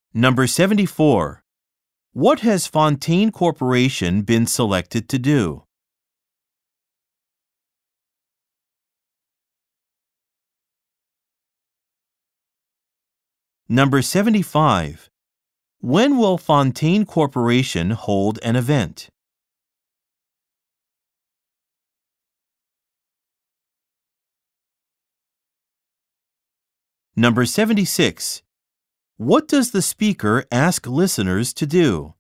Number 74. What has Fontaine Corporation been selected to do? Number 75. When will Fontaine Corporation hold an event? Number 76. What does the speaker ask listeners to do?